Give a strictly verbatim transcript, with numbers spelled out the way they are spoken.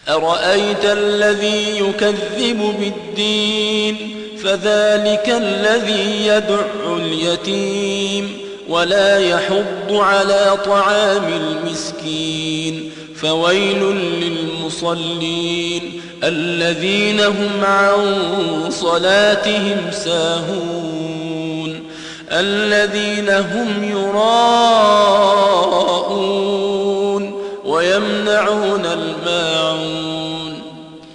أرأيت الذي يكذب بالدين فذلك الذي يدع اليتيم ولا يحض على طعام المسكين فويل للمصلين الذين هم عن صلاتهم ساهون الذين هم يراءون ويمنعون